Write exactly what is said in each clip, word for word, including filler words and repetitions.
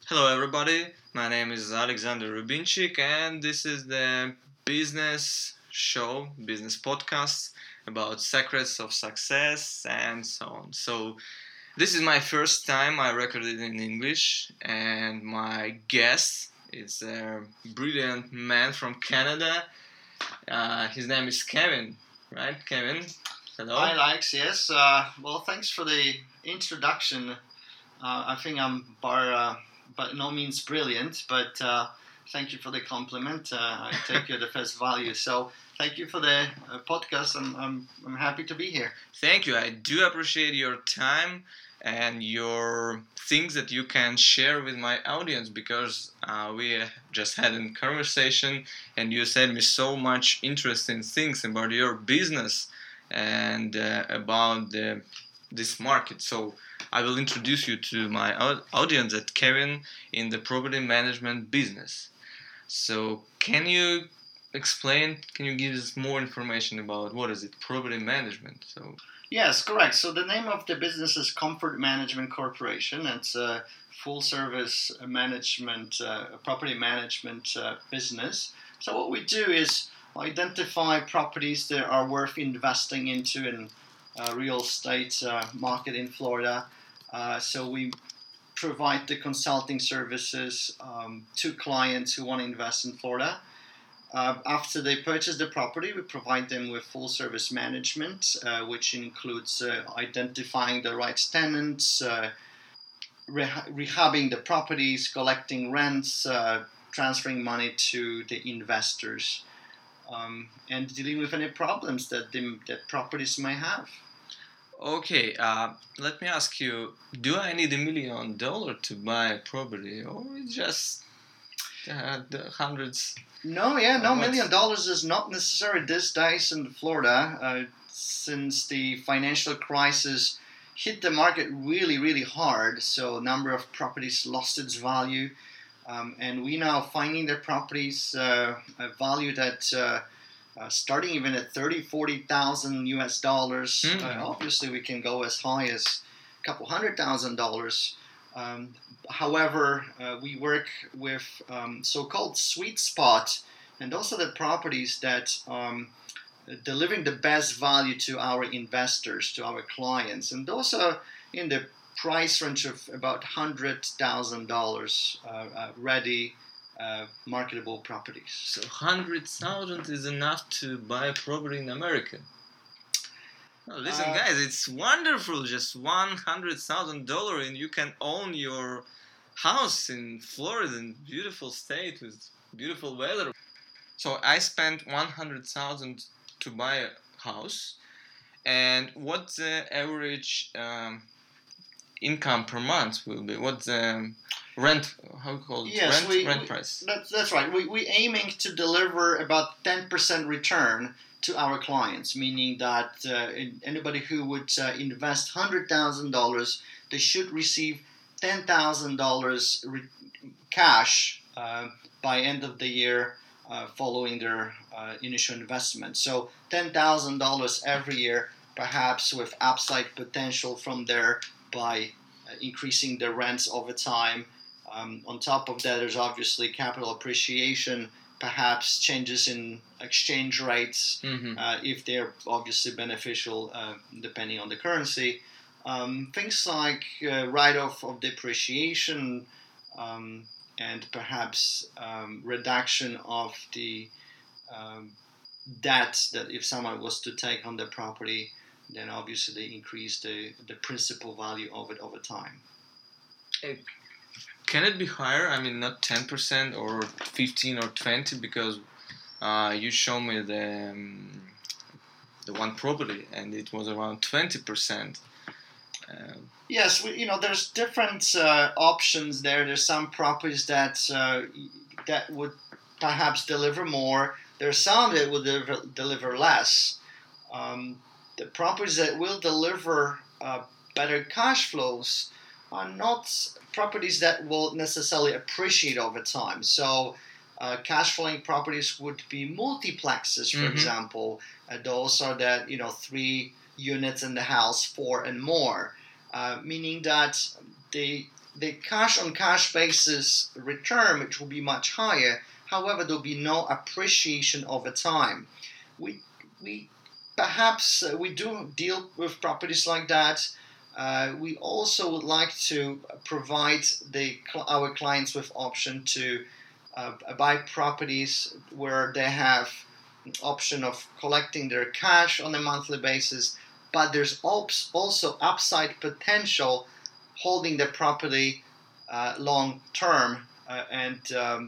Hello, everybody. My name is Alexander Rubinchik, and this is the business show, business podcast about secrets of success and so on. So, this is my first time I recorded in English, and my guest is a brilliant man from Canada. Uh, his name is Kevin, right? Kevin, Hi, hello. Alex. Yes. Uh, well, thanks for the introduction. Uh, I think I'm bar, uh, by no means brilliant, but uh, thank you for the compliment. Uh, I take you at the face value. So, thank you for the uh, podcast. I'm, I'm, I'm happy to be here. Thank you. I do appreciate your time and your things that you can share with my audience because uh, we just had a conversation and you said me so much interesting things about your business and uh, about the, this market. So I will introduce you to my au- audience at Kevin in the property management business. So can you explain? Can you give us more information about what is it, property management? So Yes, correct. So, the name of the business is Comfort Management Corporation. It's a full service management, uh, property management uh, business. So, what we do is identify properties that are worth investing into in uh, real estate uh, market in Florida. Uh, so, we provide the consulting services um, to clients who want to invest in Florida. Uh, after they purchase the property, we provide them with full service management, uh, which includes uh, identifying the right tenants, uh, reha- rehabbing the properties, collecting rents, uh, transferring money to the investors, um, and dealing with any problems that the that properties may have. okay, uh, let me ask you: do I need a million dollar to buy a property, or it's just uh, the hundreds No, yeah, of no what's? million dollars is not necessary these days in Florida, uh, since the financial crisis hit the market really, really hard. So, a number of properties lost its value, um, and we now finding the properties uh, valued at uh, uh, starting even at thirty, forty thousand U S dollars. Uh, Hmm. obviously, we can go as high as a couple hundred thousand dollars. Um, however, uh, we work with um, so-called sweet spot, and those are the properties that um, delivering the best value to our investors, to our clients, and those are in the price range of about hundred thousand dollars, uh, uh, ready, uh, marketable properties. So hundred thousand is enough to buy a property in America. Oh, listen, Uh, guys, it's wonderful. Just one hundred thousand dollar, and you can own your house in Florida, in beautiful state with beautiful weather. So I spent one hundred thousand to buy a house, and what the average um, income per month will be? What the rent? How called it? yes, Rent we, rent we price. that's, that's right. We we aiming to deliver about ten percent return to our clients, meaning that uh, anybody who would uh, invest hundred thousand dollars, they should receive ten thousand dollars re- cash uh, by end of the year. Uh, following their uh, initial investment, so ten thousand dollars every year, perhaps with upside potential from there by uh, increasing the rents over time. Um, on top of that, there's obviously capital appreciation, perhaps changes in exchange rates, Mm-hmm. uh, if they're obviously beneficial uh, depending on the currency. Um, things like uh, write off of depreciation, um, and perhaps um, reduction of the um, debt that if someone was to take on the property, then obviously they increase the, the principal value of it over time. Can it be higher? I mean, not ten percent or fifteen or twenty because uh, you show me the um, the one property and it was around twenty percent. Uh, Yes, we, you know, there's different uh, options there. There's some properties that uh, that would perhaps deliver more. There's some that will deliver, deliver less. Um, the properties that will deliver uh, better cash flows are not properties that will necessarily appreciate over time. So, uh, cash flowing properties would be multiplexes, for mm-hmm. example. Uh, those are that, you know, three units in the house, four and more, uh, meaning that they the cash on cash basis return, which will be much higher. However, there will be no appreciation over time. We we perhaps uh, we do deal with properties like that. Uh, we also would like to provide the our clients with option to uh, buy properties where they have option of collecting their cash on a monthly basis, but there's also upside potential holding the property uh, long term uh, and um,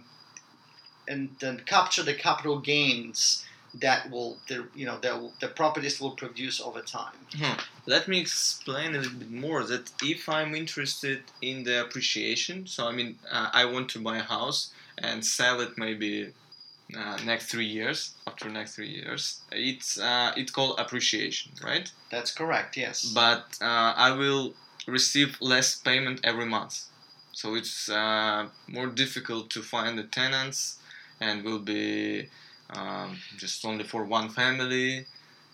and then capture the capital gains that will the you know that the properties will produce over time. Hmm. Let me explain a little bit more. That if I'm interested in the appreciation, so I mean uh, I want to buy a house and sell it maybe uh, next three years. After next three years, it's uh, it's called appreciation, right? That's correct. Yes. But uh, I will receive less payment every month, so it's uh, more difficult to find the tenants, and will be um, just only for one family,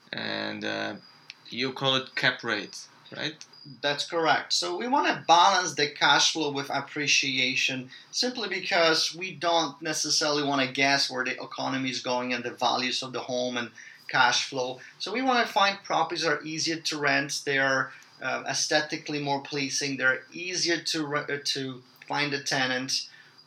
and uh, you call it cap rate, right? That's correct. So we want to balance the cash flow with appreciation simply because we don't necessarily want to guess where the economy is going and the values of the home and cash flow. So we want to find properties that are easier to rent, they are uh, aesthetically more pleasing, they're easier to, re- to find a tenant,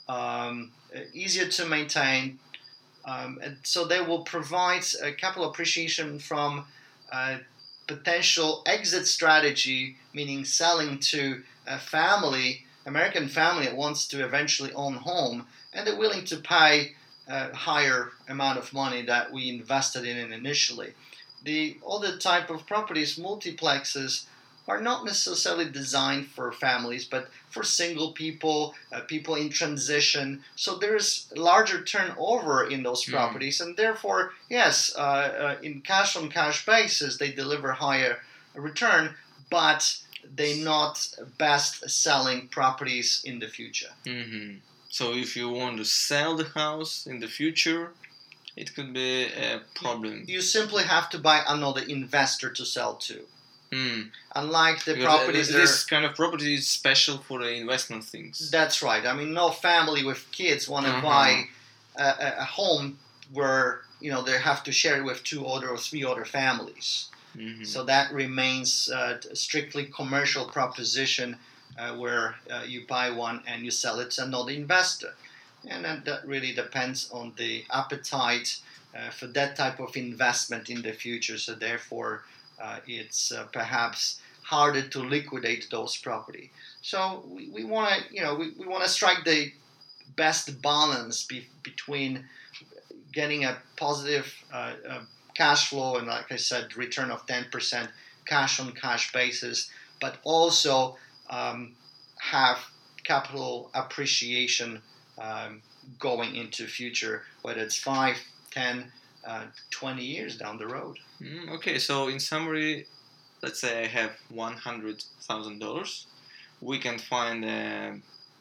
um, easier to maintain. Um, and so they will provide uh, capital appreciation from uh, potential exit strategy, meaning selling to a family, American family that wants to eventually own home, and they're willing to pay a higher amount of money that we invested in it initially. The other type of properties, multiplexes, are not necessarily designed for families, but for single people, uh, people in transition. So there's larger turnover in those properties, mm. and therefore, yes, uh, uh, in cash-on-cash basis, they deliver higher return, but they're not best-selling properties in the future. Mm-hmm. So if you want to sell the house in the future, it could be a problem. You simply have to buy another investor to sell to. Mm. Unlike the because properties, this kind of property is special for the investment things. That's right. I mean, no family with kids want to uh-huh. buy a, a home where you know they have to share it with two other or three other families. Mm-hmm. So that remains uh, a strictly commercial proposition uh, where uh, you buy one and you sell it to another investor, and that, that really depends on the appetite uh, for that type of investment in the future. So therefore. Uh, it's uh, perhaps harder to liquidate those property. So we, we want to, you know, we, we want to strike the best balance be, between getting a positive uh, uh, cash flow and, like I said, return of ten percent cash on cash basis, but also um, have capital appreciation um, going into future, whether it's five, ten, uh, twenty years down the road. Mm, okay, so in summary, let's say I have one hundred thousand dollars. We can find a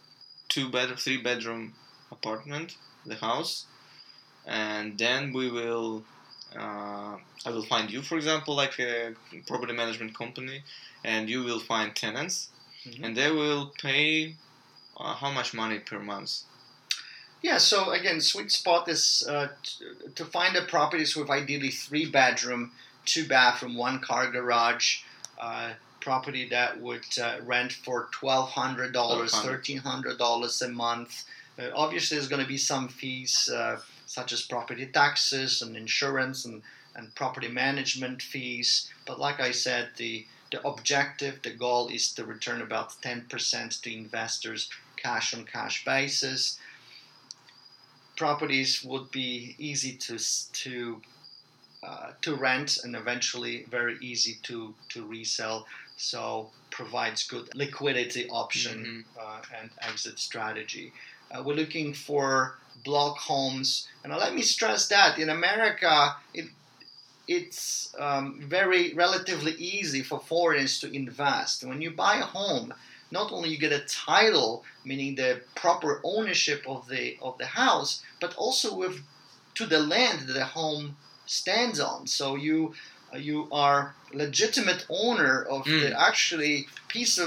two bed, three bedroom apartment, the house, and then we will. Uh, I will find you, for example, like a property management company, and you will find tenants, mm-hmm. and they will pay uh, how much money per month? Yeah, so again, sweet spot is uh, t- to find the properties with ideally three bedroom, two bathroom, one car garage, uh, property that would uh, rent for twelve hundred dollars, thirteen hundred dollars a month. Uh, obviously, there's going to be some fees uh, such as property taxes and insurance and, and property management fees. But like I said, the, the objective, the goal is to return about ten percent to investors, cash on cash basis. Properties would be easy to to uh, to rent and eventually very easy to, to resell. So provides good liquidity option mm-hmm. uh, and exit strategy. Uh, we're looking for block homes, and let me stress that in America it it's um, very relatively easy for foreigners to invest. When you buy a home, not only you get a title, meaning the proper ownership of the of the house, but also with to the land that the home stands on. So you uh, you are legitimate owner of mm. the actually piece of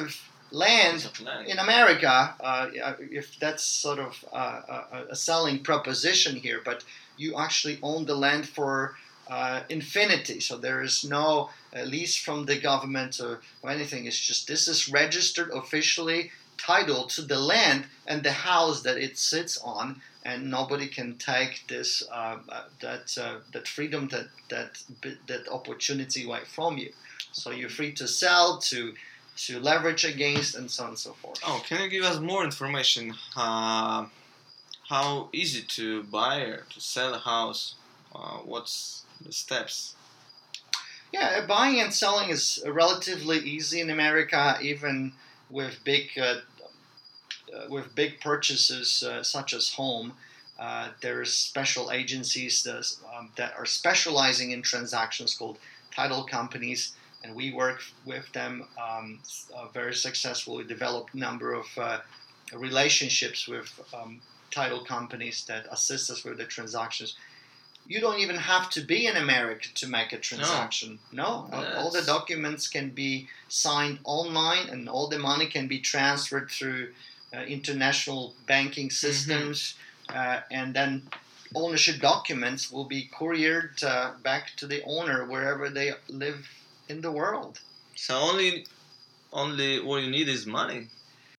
land Piece of land. in America, uh, if that's sort of uh, a, a selling proposition here, but you actually own the land for uh, infinity. So there is no uh, lease from the government or, or anything. It's just this is registered officially title to the land and the house that it sits on, and nobody can take this uh, that uh, that freedom, that that that opportunity away from you. So you're free to sell, to to leverage against, and so on and so forth. Oh, can you give us more information? Uh, how easy to buy or to sell a house? Uh, what's the steps? Yeah, buying and selling is relatively easy in America, even with big uh, uh, with big purchases uh, such as home. Uh, there's special agencies that, um, that are specializing in transactions called title companies, and we work with them um, uh, very successfully. Developed a number of uh, relationships with um, title companies that assist us with the transactions. You don't even have to be in America to make a transaction. No, no. All the documents can be signed online, and all the money can be transferred through uh, international banking systems, mm-hmm. uh, and then ownership documents will be couriered uh, back to the owner wherever they live in the world. So only, only what you need is money.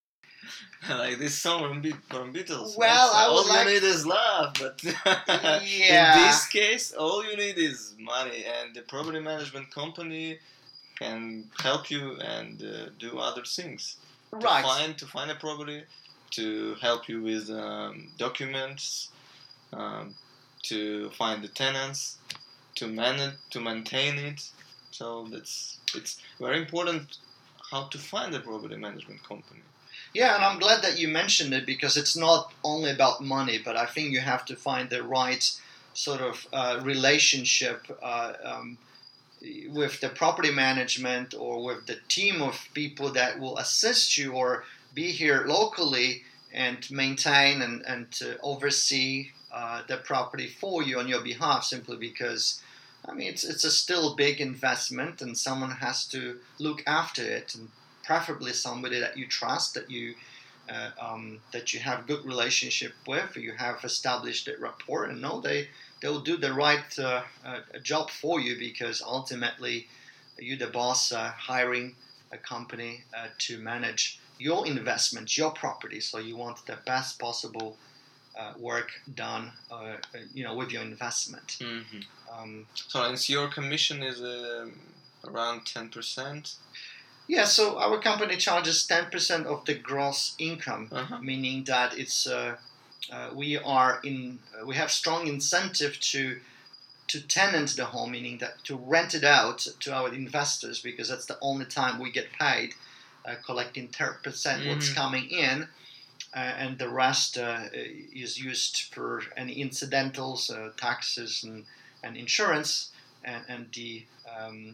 Like this song from, Be- from Beatles. Well, right? I would all like... you need is love, but yeah. in this case, all you need is money, and the property management company can help you and uh, do other things. Right. To find to find a property, to help you with um, documents, um, to find the tenants, to manage, to maintain it. So that's it's very important how to find a property management company. Yeah, and I'm glad that you mentioned it, because it's not only about money, but I think you have to find the right sort of uh, relationship uh, um, with the property management or with the team of people that will assist you or be here locally and maintain and, and to oversee uh, the property for you on your behalf, simply because, I mean, it's, it's a still big investment and someone has to look after it, and preferably somebody that you trust, that you uh, um, that you have good relationship with, you have established that rapport, and know they they'll do the right uh, uh, job for you, because ultimately you're the boss uh, hiring a company uh, to manage your investment, your property. So you want the best possible uh, work done, uh, you know, with your investment. Mm-hmm. Um, so, and your commission is uh, around ten percent. Yeah, so our company charges ten percent of the gross income, uh-huh. meaning that it's uh, uh, we are in uh, we have strong incentive to to tenant the home, meaning that to rent it out to our investors, because that's the only time we get paid, uh, collecting ten percent mm-hmm. what's coming in, uh, and the rest uh, is used for any incidentals, uh, taxes, and, and insurance, and, and the um,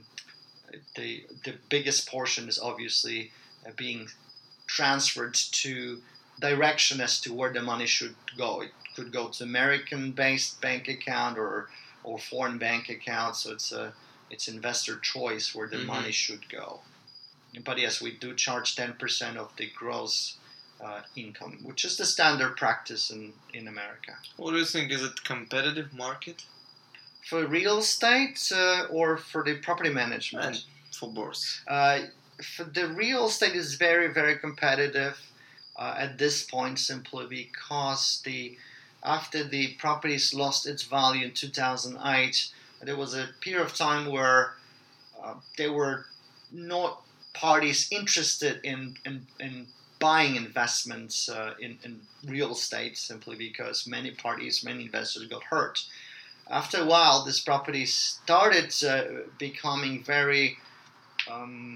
The the biggest portion is obviously uh, being transferred to direction as to where the money should go. It could go to American-based bank account or or foreign bank account. So it's a it's investor choice where the mm-hmm. money should go. But yes, we do charge ten percent of the gross uh, income, which is the standard practice in, in America. What do you think? Is it competitive market? For real estate uh, or for the property management? And for both. Uh, for the real estate is very, very competitive uh, at this point, simply because the after the properties lost its value in two thousand eight, there was a period of time where uh, there were not parties interested in, in, in buying investments uh, in, in real estate, simply because many parties, many investors got hurt. After a while, this property started uh, becoming very, um,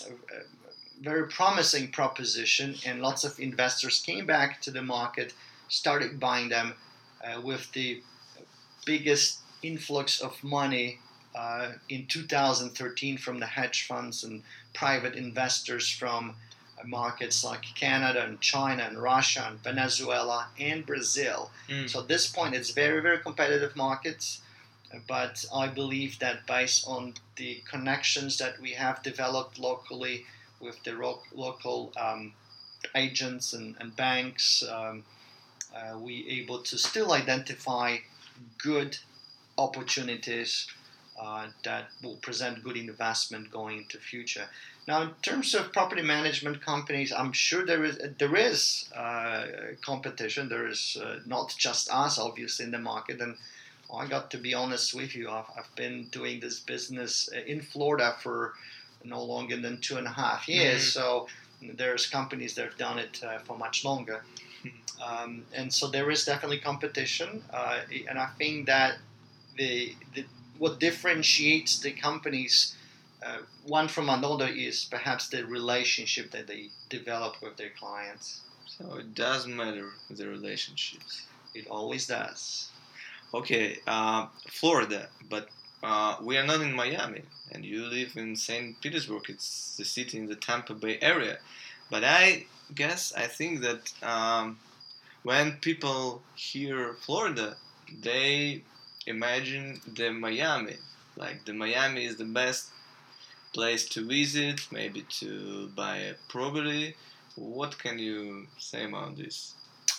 very promising proposition, and lots of investors came back to the market, started buying them uh, with the biggest influx of money uh, in two thousand thirteen from the hedge funds and private investors from markets like Canada and China and Russia and Venezuela and Brazil. Mm. So at this point, it's very, very competitive markets. But I believe that based on the connections that we have developed locally with the ro- local um, agents and, and banks, um, uh, we able to still identify good opportunities uh, that will present good investment going into future. Now, in terms of property management companies, I'm sure there is there is uh, competition. There is uh, not just us, obviously, in the market. And I got to be honest with you, I've, I've been doing this business in Florida for no longer than two and a half years. Mm-hmm. So there's companies that have done it uh, for much longer. Um, and so there is definitely competition. Uh, and I think that the, the what differentiates the companies uh, one from another is perhaps the relationship that they develop with their clients. So it does matter, the relationships. It always does. Okay, uh, Florida, but uh, we are not in Miami, and you live in Saint Petersburg. It's the city in the Tampa Bay area. But I guess, I think that um, when people hear Florida, they imagine the Miami. Like the Miami is the best place to visit, maybe to buy a property. What can you say about this?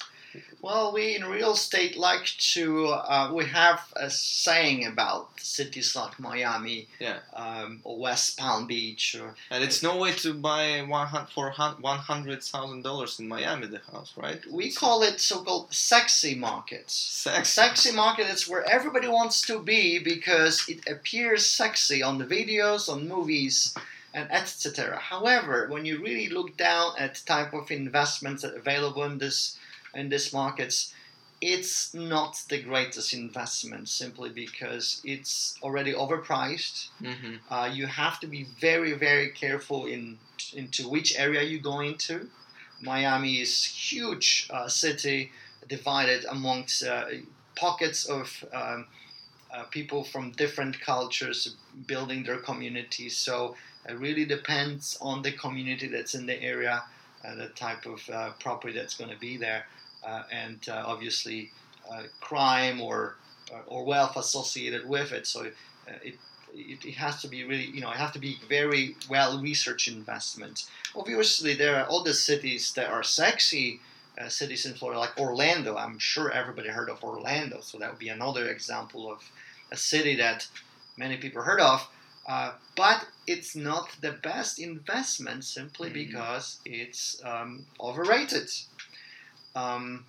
Well, we in real estate like to, uh, we have a saying about cities like Miami, yeah. um, or West Palm Beach. Or, and it's no way to buy one hundred, for one hundred thousand dollars in Miami, the house, right? We it's call it so-called sexy markets. Sexy. Sexy market is where everybody wants to be because it appears sexy on the videos, on movies, and et cetera. However, when you really look down at the type of investments that are available in this in these markets, it's not the greatest investment simply because it's already overpriced. Mm-hmm. Uh, you have to be very, very careful in into which area you go into. Miami is a huge uh, city divided amongst uh, pockets of um, uh, people from different cultures building their communities. So it really depends on the community that's in the area, uh, the type of uh, property that's going to be there. Uh, and uh, obviously uh, crime or or wealth associated with it. So uh, it, it it has to be really, you know, it has to be very well researched investment. Obviously, there are other cities that are sexy uh, cities in Florida, like Orlando. I'm sure everybody heard of Orlando, so that would be another example of a city that many people heard of. Uh, but it's not the best investment simply mm-hmm. because it's um, overrated. Um,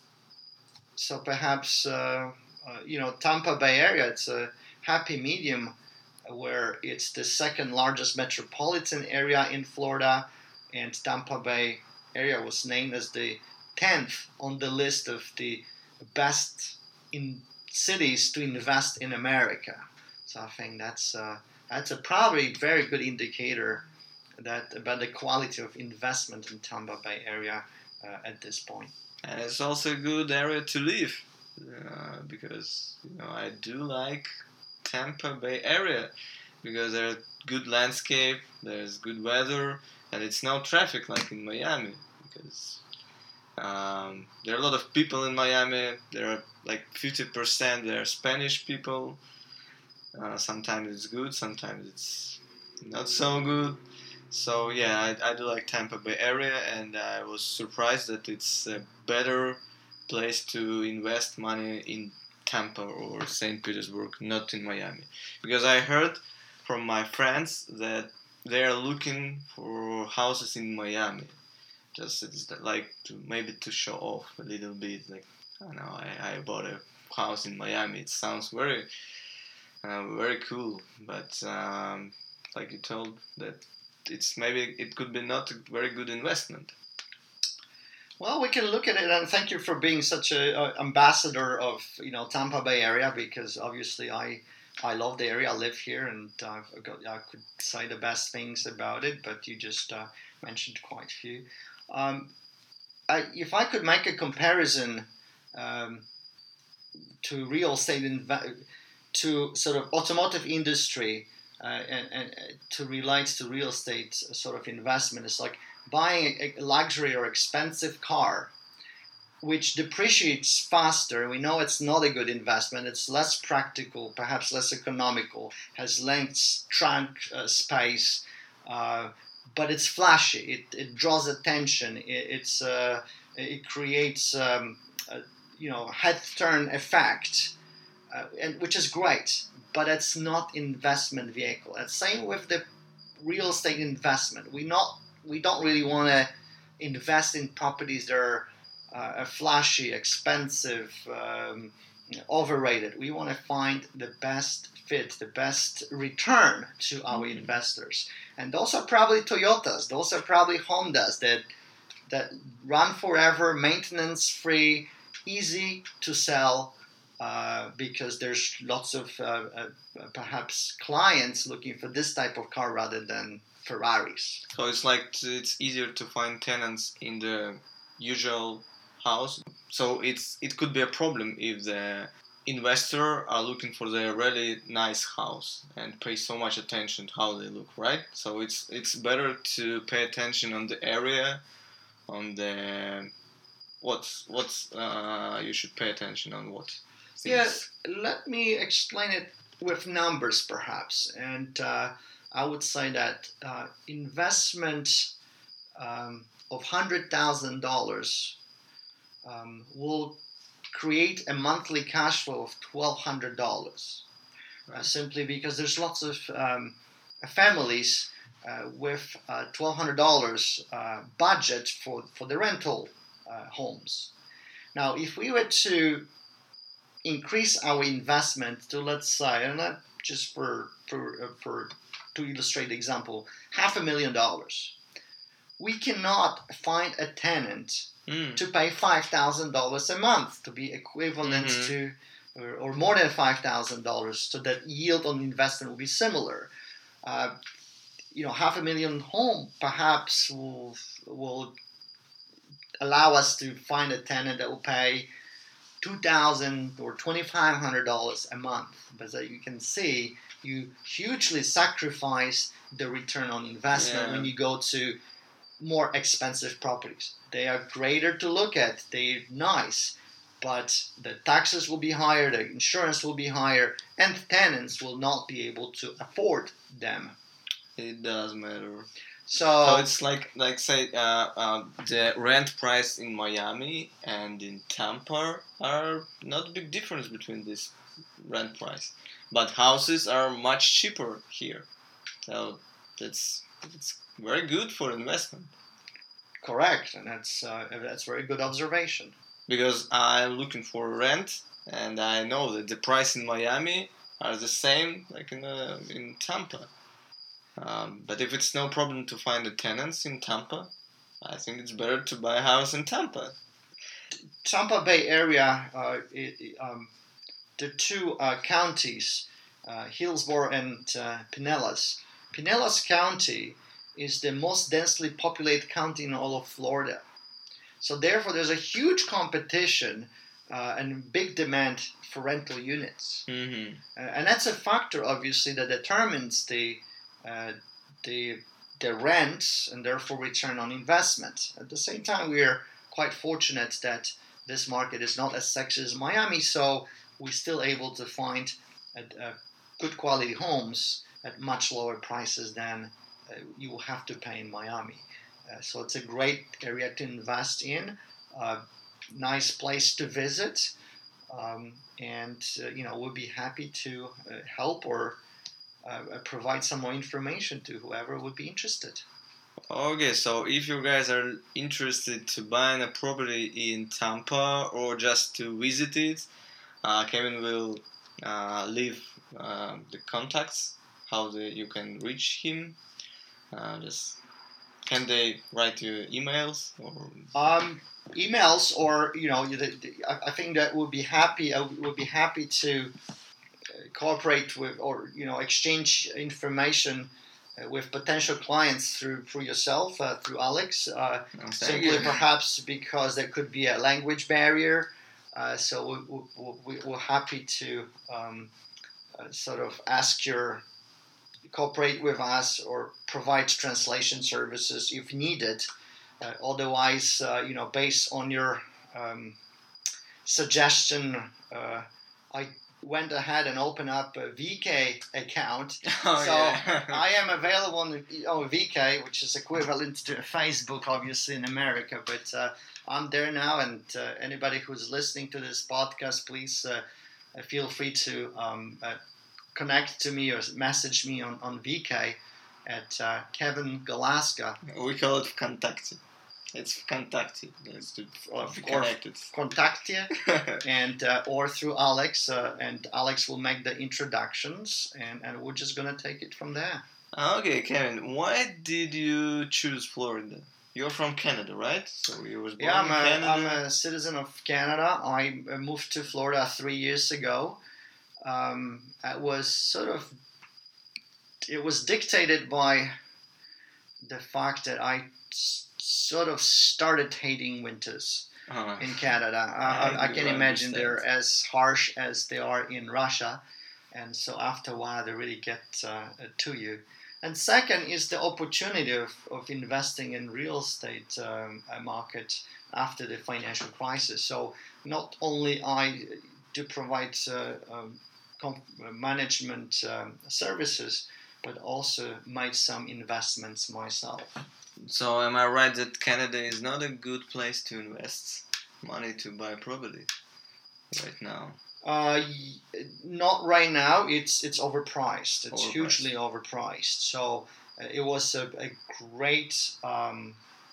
so perhaps, uh, uh, you know, Tampa Bay area, it's a happy medium where it's the second largest metropolitan area in Florida, and Tampa Bay area was named as the tenth on the list of the best in cities to invest in America. So I think that's, uh, that's a probably very good indicator that about the quality of investment in Tampa Bay area Uh, at this point. And it's also a good area to live uh, because, you know, I do like Tampa Bay area because there's good landscape, there's good weather, and it's no traffic like in Miami because um, there are a lot of people in Miami. There are like fifty percent they are Spanish people. Uh, sometimes it's good, sometimes it's not so good. So yeah, I, I do like Tampa Bay area, and I was surprised that it's a better place to invest money in Tampa or Saint Petersburg, not in Miami, because I heard from my friends that they are looking for houses in Miami, just it's like to maybe to show off a little bit. Like I don't know, I, I bought a house in Miami. It sounds very uh, very cool, but um, like you told that. It's maybe it could be not a very good investment. Well, we can look at it, and thank you for being such a, a ambassador of you know Tampa Bay area, because obviously I I love the area. I live here, and uh, I could say the best things about it, but you just uh, mentioned quite a few. Um, I, if I could make a comparison um, to real estate inv- to sort of automotive industry. Uh, and, and to relate to real estate sort of investment, it's like buying a, a luxury or expensive car, which depreciates faster. We know it's not a good investment. It's less practical, perhaps less economical, has less trunk uh, space, uh, but it's flashy. It, it draws attention. It, it's uh, it creates um, a, you know head turn effect, uh, and which is great. But it's not investment vehicle. And same with the real estate investment. We not we don't really want to invest in properties that are uh, flashy, expensive, um, overrated. We want to find the best fit, the best return to our Mm. investors. And those are probably Toyotas. Those are probably Hondas that that run forever, maintenance free, easy to sell. Uh, because there's lots of uh, uh, perhaps clients looking for this type of car rather than Ferraris. So it's like t- it's easier to find tenants in the usual house. So it's it could be a problem if the investor are looking for the really nice house and pay so much attention to how they look, right? So it's it's better to pay attention on the area, on the what's what's uh, you should pay attention on what things. Yes, let me explain it with numbers perhaps. And uh, I would say that uh, investment um, of one hundred thousand dollars um, will create a monthly cash flow of twelve hundred dollars. Uh, simply because there's lots of um, families uh, with uh, twelve hundred dollars uh, budget for, for the rental uh, homes. Now, if we were to increase our investment to, let's say, and not just for for uh, for to illustrate the example, half a million dollars, we cannot find a tenant Mm. to pay five thousand dollars a month to be equivalent Mhm. to, or, or more than five thousand dollars, so that yield on investment will be similar. Uh, you know, half a million home perhaps will will allow us to find a tenant that will pay two thousand or twenty five hundred dollars a month. But as you can see, you hugely sacrifice the return on investment Yeah. when you go to more expensive properties. They are greater to look at. They're nice, but the taxes will be higher, the insurance will be higher, and tenants will not be able to afford them. It does matter. So, So it's like like say uh, uh, the rent price in Miami and in Tampa are not big difference between this rent price, but houses are much cheaper here. So that's it's very good for investment correct, and that's uh, that's very good observation. because I'm looking for rent and I know that the price in Miami are the same like in uh, in Tampa. Um, but if it's no problem to find the tenants in Tampa, I think it's better to buy a house in Tampa. Tampa Bay area, uh, it, it, um, the two uh, counties, uh, Hillsborough and uh, Pinellas. Pinellas County is the most densely populated county in all of Florida. So therefore, there's a huge competition uh, and big demand for rental units. Mm-hmm. Uh, and that's a factor, obviously, that determines the uh, the the rent and therefore return on investment. At the same time, we are quite fortunate that this market is not as sexy as Miami, so we're still able to find uh, uh, good quality homes at much lower prices than uh, you will have to pay in Miami. Uh, so it's a great area to invest in, uh, nice place to visit, um, and uh, you know we'll be happy to uh, help or uh, provide some more information to whoever would be interested. Okay, so if you guys are interested to buying a property in Tampa or just to visit it, uh, Kevin will uh, leave uh, the contacts, how the, you can reach him. Uh, just can they write you emails or? Um, emails or you know, the, the, I think that would be happy. I would be happy to cooperate with or you know exchange information uh, with potential clients through through yourself, uh, through Alex. Uh, Oh, simply you. perhaps because there could be a language barrier. Uh, so we, we, we're happy to um, uh, sort of ask your cooperate with us or provide translation services if needed. Uh, otherwise, uh, you know, based on your um, suggestion, uh, I went ahead and opened up a V K account. Oh, so yeah. I am available on oh, V K, which is equivalent to Facebook, obviously, in America. But uh, I'm there now, and uh, anybody who's listening to this podcast, please uh, feel free to um, uh, connect to me or message me on, on V K at uh, Kevin Galaska. We call it Vkontakte. It's Vkontakte. It's to Or, be or connected. contact you, and uh, or through Alex, uh, and Alex will make the introductions, and, and we're just gonna take it from there. Okay, Kevin, why did you choose Florida? You're from Canada, right? So you was born Yeah, I'm in a, Canada. I'm a citizen of Canada. I uh, moved to Florida three years ago. Um, it was sort of, it was dictated by the fact that I s- sort of started hating winters Uh, in Canada. I, I, I do can imagine understand. they're as harsh as they are in Russia, and so after a while they really get uh, to you. And second is the opportunity of, of investing in real estate um, uh, market after the financial crisis. So not only I do provide uh, um, com- management um, services, but also made some investments myself. So am I right that Canada is not a good place to invest money to buy property right now? Uh, y- not right now. It's it's overpriced. It's Overpriced. hugely overpriced. So uh, it was a, a great um,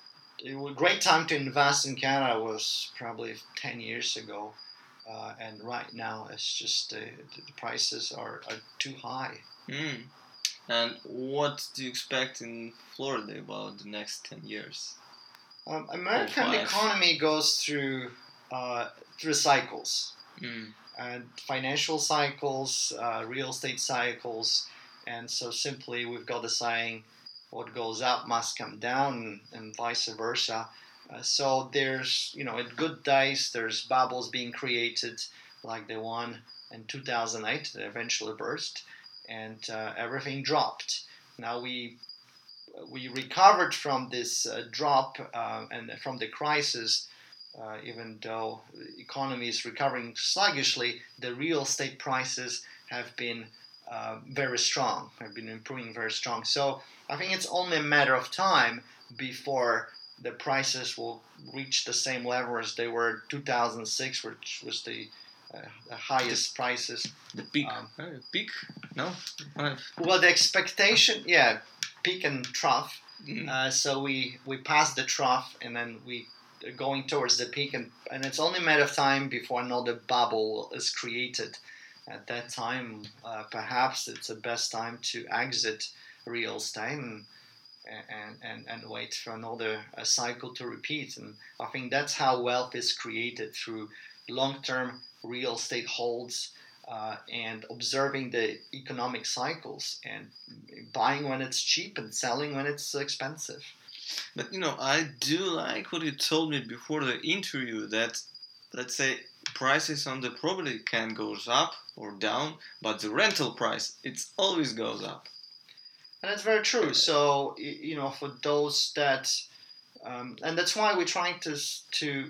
it was a great time to invest in Canada. Was probably ten years ago, uh, and right now it's just uh, the prices are, are too high. Hmm. And what do you expect in Florida about the next ten years? Um, American five. economy goes through uh, through cycles. Hmm. And financial cycles, uh, real estate cycles, and so simply we've got the saying, what goes up must come down, and vice versa. Uh, so there's, you know, in good days, there's bubbles being created, like the one in two thousand eight that eventually burst, and uh, everything dropped. Now we we recovered from this uh, drop uh, and from the crisis. Uh, even though the economy is recovering sluggishly, the real estate prices have been uh, very strong, have been improving very strong. So I think it's only a matter of time before the prices will reach the same level as they were in two thousand six, which was the, uh, the highest prices. The peak. Um, Uh, peak? No? Uh, Well, the expectation, yeah, peak and trough. mm. Uh, so we, we passed the trough, and then we are going towards the peak, and, and it's only a matter of time before another bubble is created. At that time, uh, perhaps it's the best time to exit real estate and and, and, and wait for another uh, cycle to repeat. And I think that's how wealth is created, through long-term real estate holds uh, and observing the economic cycles and buying when it's cheap and selling when it's expensive. But you know, I do like what you told me before the interview, that, let's say, prices on the property can goes up or down, but the rental price, it always goes up. And that's very true. So, y- you know, for those that, um, and that's why we're trying to to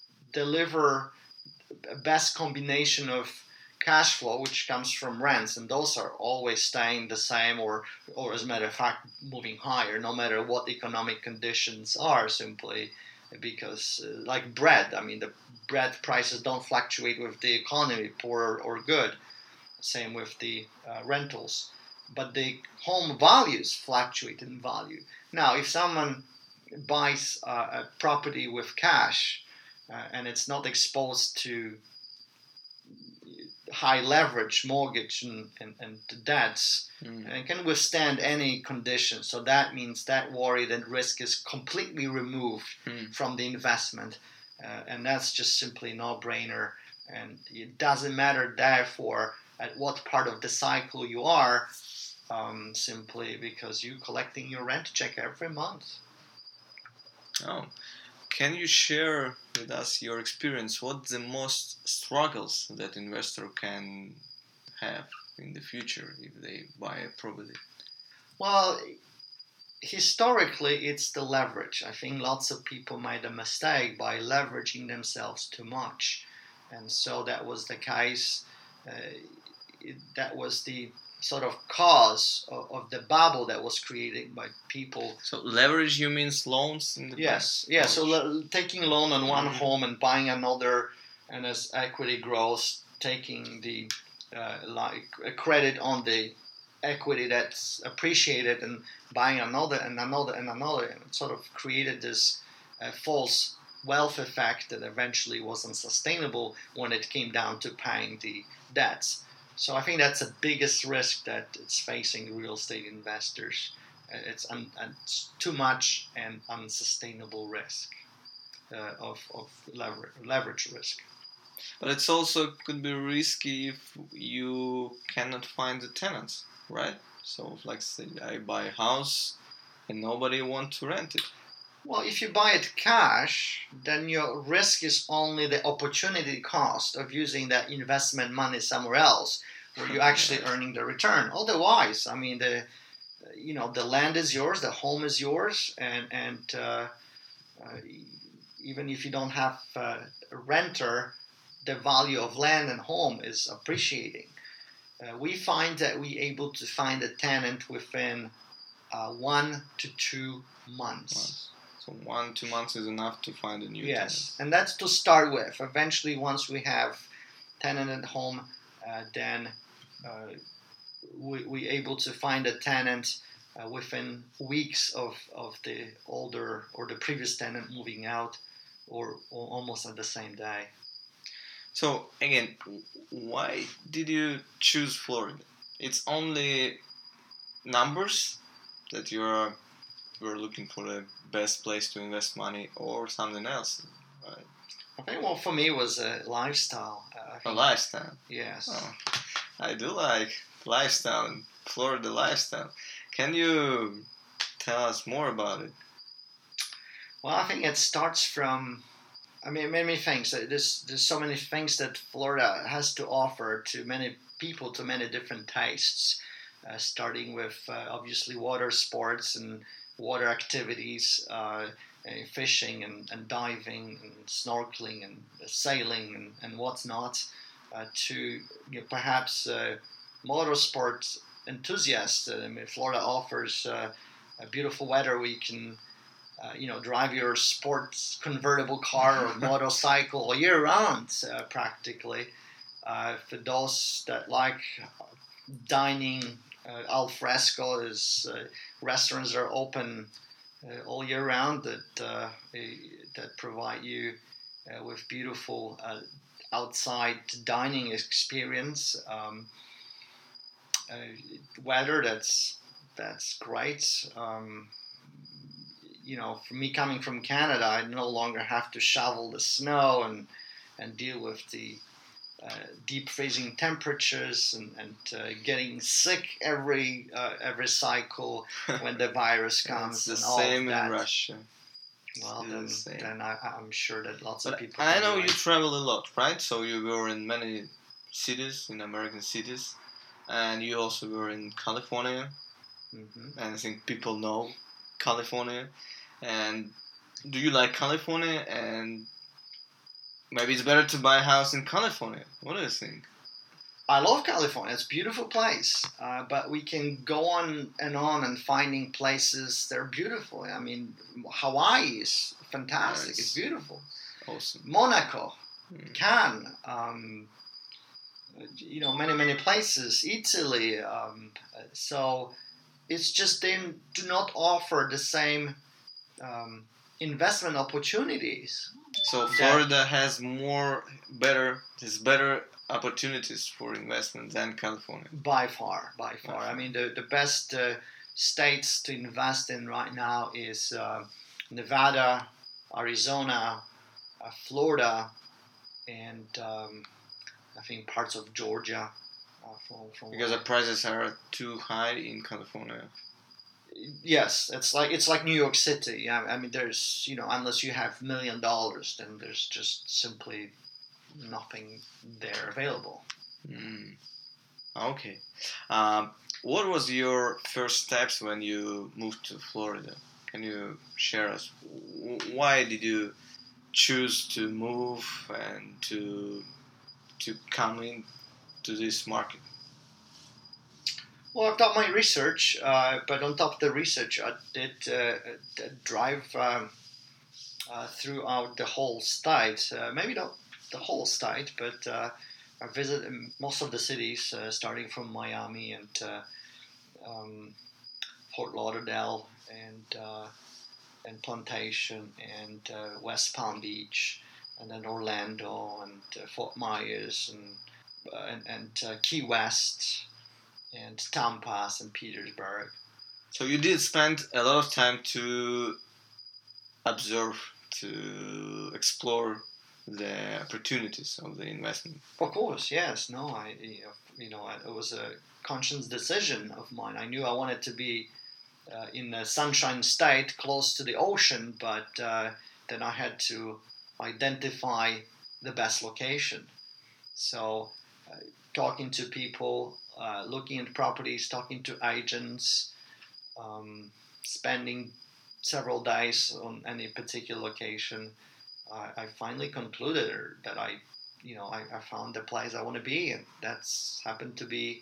deliver a best combination of cash flow, which comes from rents, and those are always staying the same, or, or as a matter of fact, moving higher, no matter what economic conditions are, simply because, uh, like bread, I mean, the bread prices don't fluctuate with the economy, poor or good. Same with the uh, rentals. But the home values fluctuate in value. Now, if someone buys uh, a property with cash uh, and it's not exposed to high leverage mortgage and, and, and debts, Mm. and can withstand any conditions, so that means that worry, that risk is completely removed Mm. from the investment, uh, and that's just simply no-brainer. And it doesn't matter, therefore, at what part of the cycle you are, um, simply because you're collecting your rent check every month. Oh, can you share with us your experience? What the most struggles that investor can have in the future if they buy a property? Well, historically, it's the leverage. I think lots of people made a mistake by leveraging themselves too much, and so that was the case uh, it, that was the sort of cause of, of the bubble that was created by people. So leverage, you means loans in the Yes, bank? yeah. So le- taking loan on one Mhm. home and buying another, and as equity grows, taking the uh, like a credit on the equity that's appreciated and buying another and another and another, and it sort of created this uh, false wealth effect that eventually wasn't sustainable when it came down to paying the debts. So I think that's the biggest risk that it's facing real estate investors. Uh, It's, un, it's too much and unsustainable risk uh, of, of lever, leverage risk. But it's also could be risky if you cannot find the tenants, right? So, like, say I buy a house and nobody want to rent it. Well, if you buy it cash, then your risk is only the opportunity cost of using that investment money somewhere else, where you're actually Right. earning the return. Otherwise, I mean, the you know the land is yours, the home is yours, and and uh, uh, even if you don't have uh, a renter, the value of land and home is appreciating. Uh, we find that we able to find a tenant within uh, one to two months. Months. So one, two months is enough to find a new Yes, tenant. and that's to start with. Eventually, once we have tenant at home, uh, then uh, we we able to find a tenant uh, within weeks of, of the older or the previous tenant moving out, or, or almost at the same day. So again, why did you choose Florida? It's only numbers that you're you're looking for the best place to invest money, or something else, right? I think, well, for me, it was a lifestyle. Uh, I A think, lifestyle. yes. Oh, I do like lifestyle, Florida lifestyle. Can you tell us more about it? Well, I think it starts from, I mean, many things. Uh, There's there's so many things that Florida has to offer to many people, to many different tastes. Uh, starting with uh, obviously water sports and water activities, uh, uh, fishing and, and diving and snorkeling and sailing and, and what's not, uh, to you know, perhaps uh, motorsport enthusiasts. Uh, I mean, Florida offers uh, a beautiful weather where you can uh, you know, drive your sports convertible car or motorcycle all year round, uh, practically. Uh, for those that like dining, uh, al fresco is uh, restaurants are open uh, all year round that uh, that provide you uh, with beautiful uh, outside dining experience. Um, uh, weather that's that's great. Um, you know, for me coming from Canada, I no longer have to shovel the snow and and deal with the uh, deep freezing temperatures and, and uh, getting sick every uh, every cycle when the virus comes. It's the and all same of that. in Russia. Well, Still then, the same. then I, I'm sure that lots But of people. I can know you relate. travel a lot, right? So you were in many cities, in American cities, and you also were in California, Mhm. and I think people know California. And do you like California? And maybe it's better to buy a house in California. What do you think? I love California. It's a beautiful place, uh, but we can go on and on and finding places that are beautiful. I mean, Hawaii is fantastic. Nice. It's beautiful. Awesome. Monaco, Mm. Cannes, um, you know, many many places. Italy. Um, so it's just they do not offer the same um, investment opportunities. So Florida has more better, has better opportunities for investment than California. By far, by far. By I far. mean, the, the best uh, states to invest in right now is uh, Nevada, Arizona, uh, Florida, and um, I think parts of Georgia. Uh, from, from Because the prices are too high in California. yes, it's like it's like New York City. Yeah, I mean, there's you know, unless you have million dollars, then there's just simply nothing there available. Mm. Okay. Um, what was your first steps when you moved to Florida? Can you share us? Why did you choose to move and to to come in to this market? Well, I've done my research, uh, but on top of the research, I did uh, drive um, uh, throughout the whole state. Uh, maybe not the whole state, but uh, I visited most of the cities, uh, starting from Miami and uh, um, Fort Lauderdale and uh, and Plantation and uh, West Palm Beach, and then Orlando and uh, Fort Myers and uh, and, and uh, Key West and Tampa, Saint Petersburg. So you did spend a lot of time to observe, to explore the opportunities of the investment. Of course, yes. No, I you know it was a conscious decision of mine. I knew I wanted to be uh, in the Sunshine State, close to the ocean, but uh, then I had to identify the best location. So, uh, talking to people, uh, looking at properties, talking to agents, um, spending several days on any particular location, uh, I finally concluded that I, you know, I, I found the place I want to be, and that's happened to be,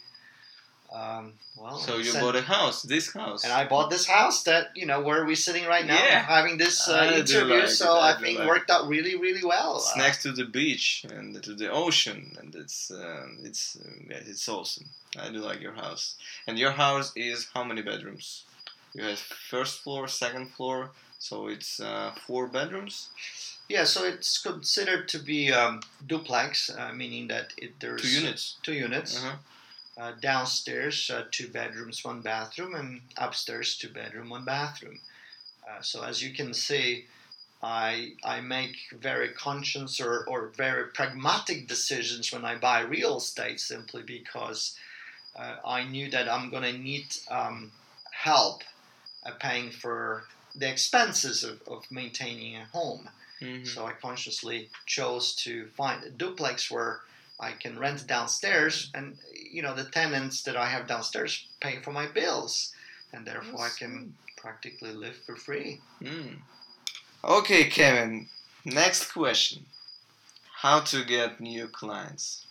um, well. So you said, bought a house, this house, and I bought this house that you know where we're sitting right now, yeah. having this uh, interview. Like so it, I, I think like worked out really, really well. It's uh, next to the beach and to the ocean, and it's uh, it's uh, yeah, it's awesome. I do like your house. And your house is how many bedrooms? You have first floor, second floor, so it's uh, four bedrooms. Yeah, so it's considered to be um, duplex, uh, meaning that it, there's two units. Two units. Uh-huh. Uh, downstairs, uh, two bedrooms, one bathroom, and upstairs, two bedroom, one bathroom. Uh, so as you can see, I I make very conscious or, or very pragmatic decisions when I buy real estate, simply because uh, I knew that I'm going to need um, help uh, paying for the expenses of, of maintaining a home. Mm-hmm. So I consciously chose to find a duplex where I can rent downstairs, and you know the tenants that I have downstairs pay for my bills, and therefore That's I can practically live for free. Mm. Okay, Kevin. Next question: how to get new clients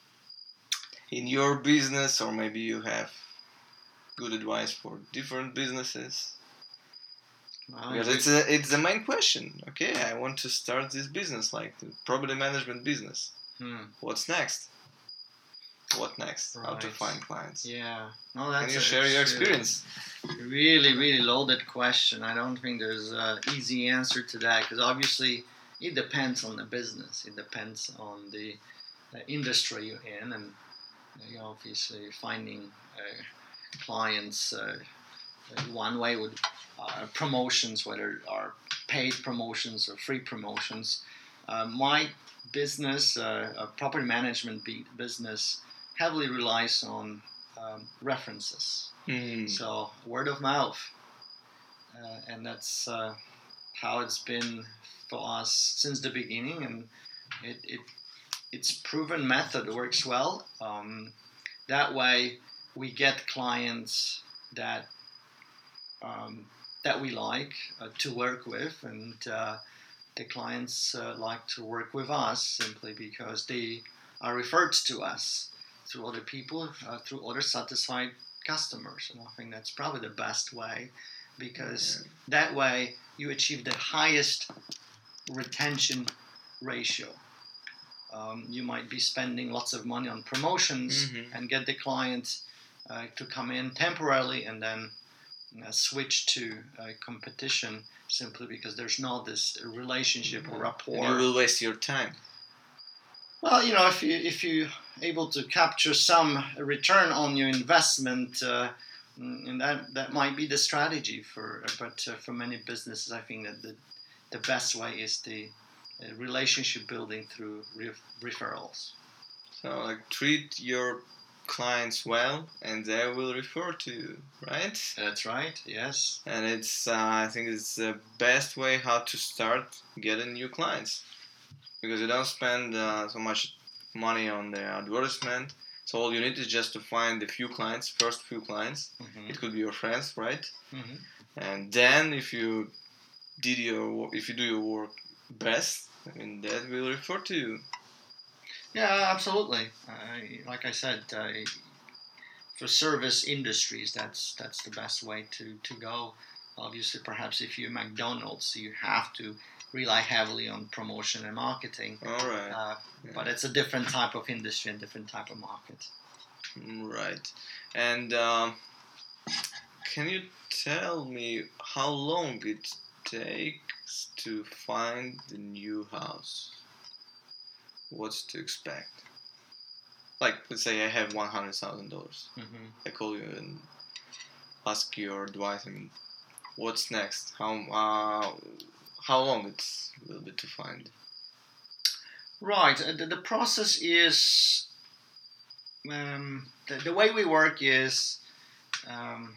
in your business, or maybe you have good advice for different businesses? Well, because it's a, it's the main question. Okay, I want to start this business, like the property management business. Hmm. What's next? What next? Right. How to find clients? Yeah. No, that's Can you a, share your experience? Really, really loaded question. I don't think there's an easy answer to that, because obviously it depends on the business. It depends on the, the industry you're in, and you know, obviously finding uh, clients uh, one way would uh, promotions, whether are paid promotions or free promotions. Uh, my business, uh, a property management business, heavily relies on um, references. Mm. So word of mouth, uh, and that's uh, how it's been for us since the beginning, and it, it it's proven method works well. Um, that way, we get clients that um, that we like uh, to work with, and uh, the clients uh, like to work with us simply because they are referred to us through other people, uh, through other satisfied customers. And I think that's probably the best way, because yeah. that way you achieve the highest retention ratio. Um, you might be spending lots of money on promotions mm-hmm. and get the client uh, to come in temporarily and then uh, switch to uh, competition simply because there's not this relationship or rapport. And you will waste your time. Well, you know, if you if you're able to capture some return on your investment, uh, and that that might be the strategy for. But uh, for many businesses, I think that the the best way is the uh, relationship building through re- referrals. So, like, treat your clients well, and they will refer to you, right? That's right. Yes. And it's uh, I think it's the best way how to start getting new clients. Because you don't spend uh, so much money on the advertisement. So all you need is just to find a few clients, first few clients. Mm-hmm. It could be your friends, right? Mm-hmm. And then if you did your if you do your work best, I mean that will refer to you. Yeah, absolutely. Uh, like I said, uh, for service industries, that's that's the best way to, to go. Obviously, perhaps if you're McDonald's, you have to rely heavily on promotion and marketing. All right. Uh, Yeah. But it's a different type of industry and different type of market. Right. And um, can you tell me how long it takes to find the new house? What's to expect? Like, let's say I have one hundred thousand dollars. Mm-hmm. I call you and ask your advice. I mean, what's next? How uh, how long it's a little bit to find? Right. uh, The, the process is um, the, the way we work is um,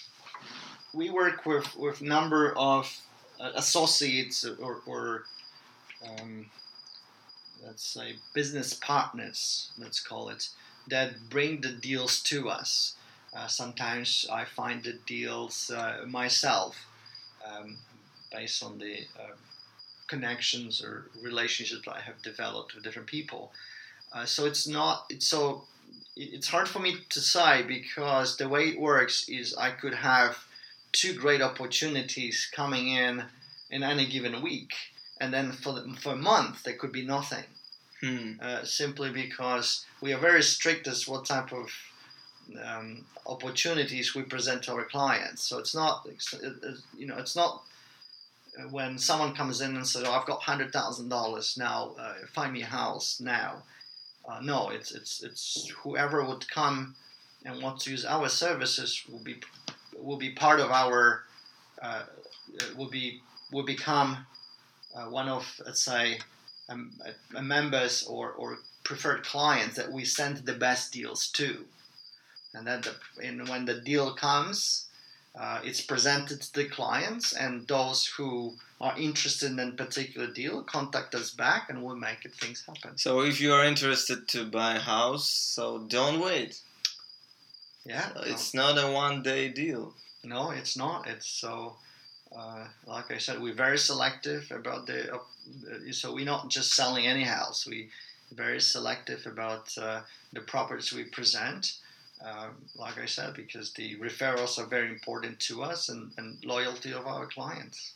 we work with with number of uh, associates or, or um, let's say business partners, let's call it, that bring the deals to us. Uh, sometimes I find the deals uh, myself, um, based on the uh, connections or relationships I have developed with different people. Uh, so it's not it's so it's hard for me to say, because the way it works is I could have two great opportunities coming in in any given week, and then for the, for a month there could be nothing. Hmm. Uh, simply because we are very strict as what type of um, opportunities we present to our clients. So it's not, you know, it's not when someone comes in and says, "Oh, I've got one hundred thousand dollars now. Uh, find me a house now." Uh, no, it's it's it's whoever would come and want to use our services will be will be part of our uh, will be will become uh, one of, let's say, um, uh, members or, or preferred clients that we send the best deals to. And then the, and when the deal comes, uh, it's presented to the clients, and those who are interested in a particular deal contact us back, and we'll make it, things happen. So if you are interested to buy a house, so don't wait. Yeah, so it's no. not a one-day deal. No, it's not. It's so. Uh, like I said, we're very selective about the. Uh, so we're not just selling any house. We very selective about uh, the properties we present. Uh, like I said, because the referrals are very important to us, and, and loyalty of our clients.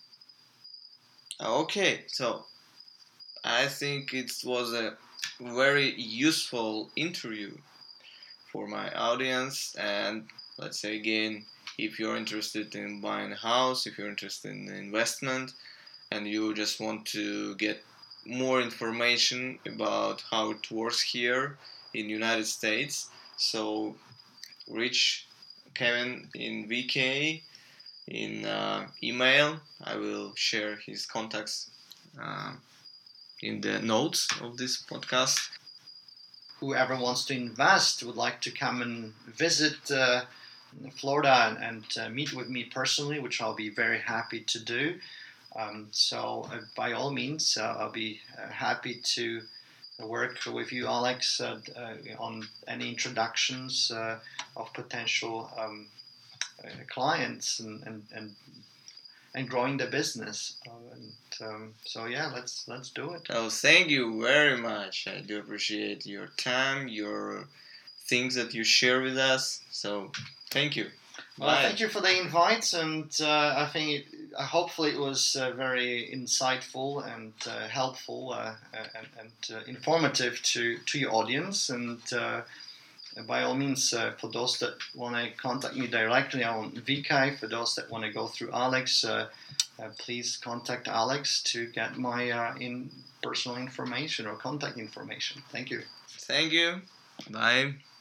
Okay, so I think it was a very useful interview for my audience. And let's say again, if you're interested in buying a house, if you're interested in investment, and you just want to get more information about how it works here in the United States, so reach Kevin in V K in uh, email. I will share his contacts uh, in the notes of this podcast. Whoever wants to invest would like to come and visit uh, Florida and, and uh, meet with me personally, which I'll be very happy to do. Um, so uh, by all means, uh, I'll be uh, happy to work with you, Alex, uh, uh, on any introductions uh, of potential um, uh, clients and, and, and and growing the business. Uh, and um, so yeah, let's let's do it. Oh, thank you very much. I do appreciate your time, your things that you share with us. So thank you. Well, Bye. thank you for the invite, and uh, I think it, uh, hopefully it was uh, very insightful and uh, helpful uh, and, and uh, informative to, to your audience. And uh, by all means, uh, for those that want to contact me directly on V K, for those that want to go through Alex, uh, uh, please contact Alex to get my uh, in personal information or contact information. Thank you. Thank you. Bye.